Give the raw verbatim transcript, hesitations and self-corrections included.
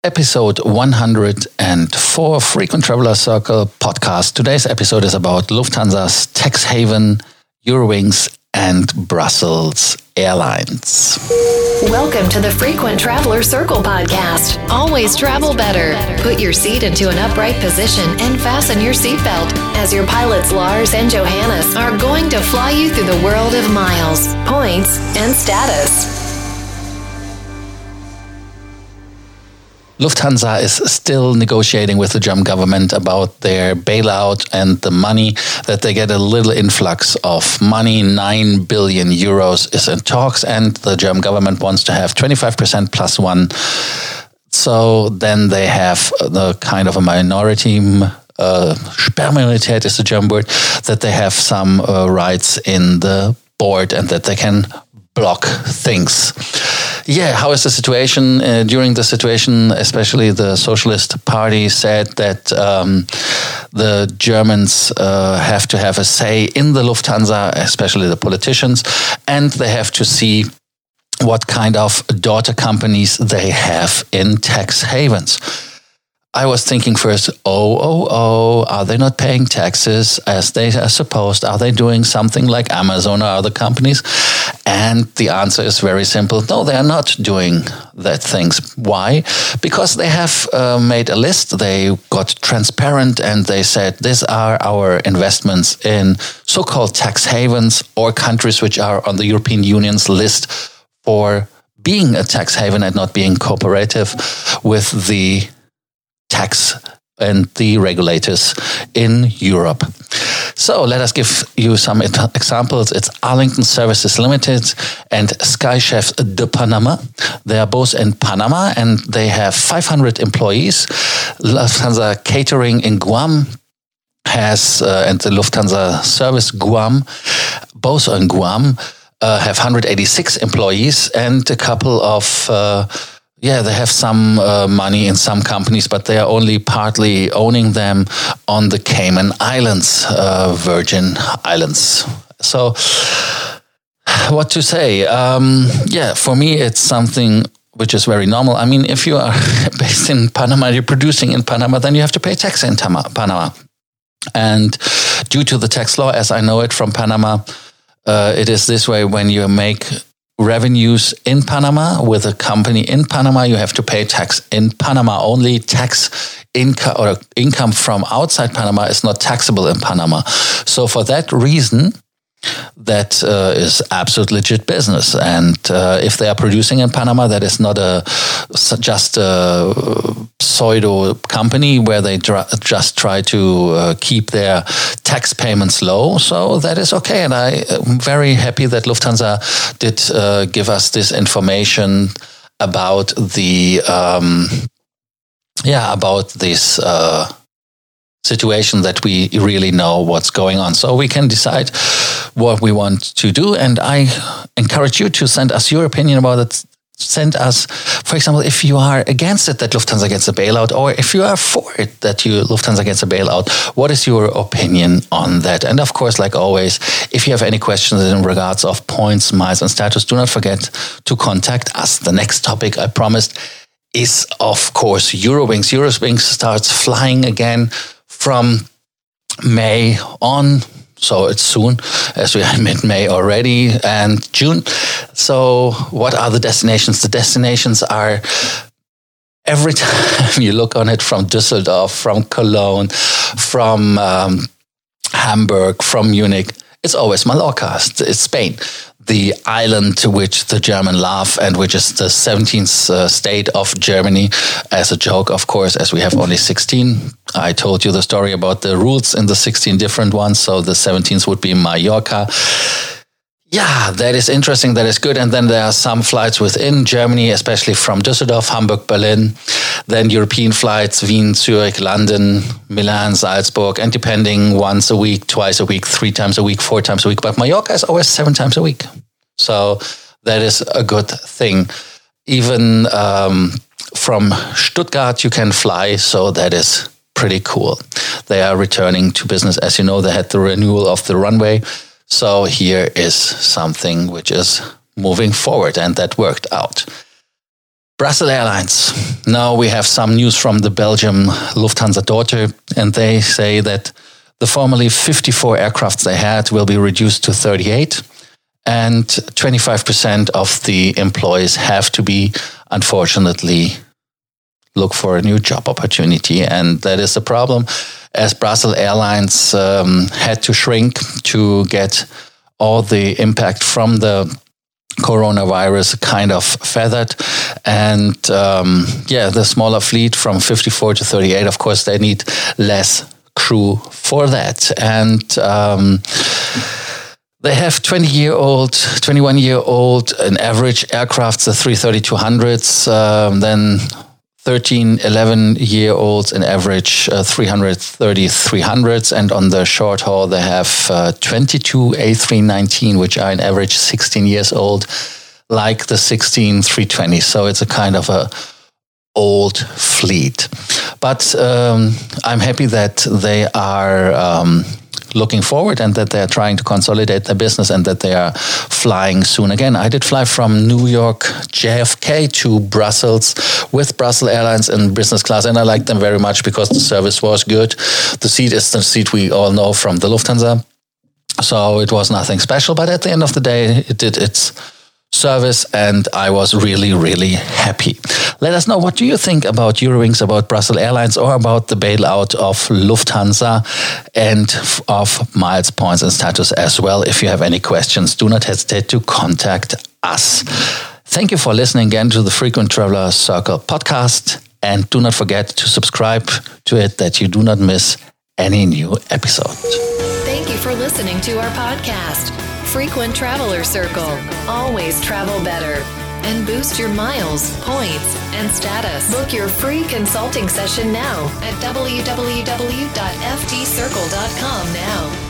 Episode one hundred four Frequent Traveler Circle podcast. Today's episode is about Lufthansa's tax haven, Eurowings, and Brussels Airlines. Welcome to the Frequent Traveler Circle podcast. Always travel better. Put your seat into an upright position and fasten your seatbelt as your pilots Lars and Johannes are going to fly you through the world of miles, points, and status. Lufthansa is still negotiating with the German government about their bailout and the money that they get. A little influx of money, nine billion euros is in talks, and the German government wants to have twenty-five percent plus one. So then they have the kind of a minority, uh, Sperrminorität is the German word, that they have some uh, rights in the board and that they can block things. Yeah, how is the situation? Uh, during the situation, especially the Socialist Party said that um, the Germans uh, have to have a say in the Lufthansa, especially the politicians, and they have to see what kind of daughter companies they have in tax havens. I was thinking first, oh, oh, oh, are they not paying taxes as they are supposed? Are they doing something like Amazon or other companies? And the answer is very simple. No, they are not doing that things. Why? Because they have uh, made a list. They got transparent and they said, these are our investments in so-called tax havens or countries which are on the European Union's list for being a tax haven and not being cooperative with the tax and the regulators in Europe. So let us give you some examples. It's Arlington Services Limited and Skychefs de Panama. They are both in Panama and they have five hundred employees. Lufthansa Catering in Guam has, uh, and the Lufthansa Service Guam, both in Guam, uh, have one hundred eighty-six employees and a couple of uh, Yeah, they have some uh, money in some companies, but they are only partly owning them on the Cayman Islands, uh, Virgin Islands. So, what to say? Um, yeah, for me, it's something which is very normal. I mean, if you are based in Panama, you're producing in Panama, then you have to pay tax in Panama. And due to the tax law, as I know it from Panama, uh, it is this way: when you make revenues in Panama with a company in Panama, you have to pay tax in Panama. Only tax income or income from outside Panama is not taxable in Panama. So for that reason, that uh, is absolute legit business. And uh, if they are producing in Panama, that is not a just a pseudo company where they dr- just try to uh, keep their tax payments low. So that is okay. And I am very happy that Lufthansa did uh, give us this information about the, um, yeah, about this uh, situation, that we really know what's going on. So we can decide what we want to do. And I encourage you to send us your opinion about it. Send us, for example, if you are against it that Lufthansa gets a bailout, or if you are for it that you Lufthansa gets a bailout, what is your opinion on that? And of course, like always, if you have any questions in regards of points, miles, and status, do not forget to contact us. The next topic, I promised, is of course Eurowings. Eurowings starts flying again from May on. So it's soon, as we are mid-May already, and June. So what are the destinations? The destinations are, every time you look on it, from Düsseldorf, from Cologne, from um, Hamburg, from Munich, it's always Mallorca, it's Spain. The island which the German love and which is the seventeenth uh, state of Germany. As a joke, of course, as we have only sixteen. I told you the story about the rules in the sixteen different ones. So the seventeenth would be Mallorca. Yeah, that is interesting. That is good. And then there are some flights within Germany, especially from Düsseldorf, Hamburg, Berlin. Then European flights, Wien, Zurich, London, Milan, Salzburg, and depending once a week, twice a week, three times a week, four times a week. But Mallorca is always seven times a week. So that is a good thing. Even um, from Stuttgart, you can fly. So that is pretty cool. They are returning to business. As you know, they had the renewal of the runway. So here is something which is moving forward, and that worked out. Brussels Airlines. Now we have some news from the Belgium Lufthansa daughter, and they say that the formerly fifty-four aircrafts they had will be reduced to thirty-eight, and twenty-five percent of the employees have to be, unfortunately, look for a new job opportunity. And that is a problem, as Brussels Airlines um, had to shrink to get all the impact from the coronavirus kind of feathered. And um, yeah, the smaller fleet from fifty-four to thirty-eight, of course, they need less crew for that. And um, they have twenty-year-old, twenty-one-year-old, an average aircraft, the three thirty two hundreds, um, then thirteen, eleven-year-olds, an average uh, three thirty three hundreds, and on the short haul they have uh, twenty-two A three nineteen, which are an average sixteen years old, like the sixteen three twenty. So it's a kind of a old fleet. But um, I'm happy that they are um, looking forward and that they're trying to consolidate their business and that they are flying soon again. I did fly from New York J F K to Brussels with Brussels Airlines in business class, and I liked them very much because the service was good. The seat is the seat we all know from the Lufthansa, so it was nothing special, but at the end of the day it did its service and I was really, really happy. Let us know, what do you think about Eurowings, about Brussels Airlines, or about the bailout of Lufthansa and of Miles, Points and Status as well. If you have any questions, do not hesitate to contact us. Thank you for listening again to the Frequent Traveler Circle podcast, and do not forget to subscribe to it that you do not miss any new episode. Thank you for listening to our podcast, Frequent Traveler Circle. Always travel better and boost your miles, points, and status. Book your free consulting session now at w w w dot f t circle dot com now.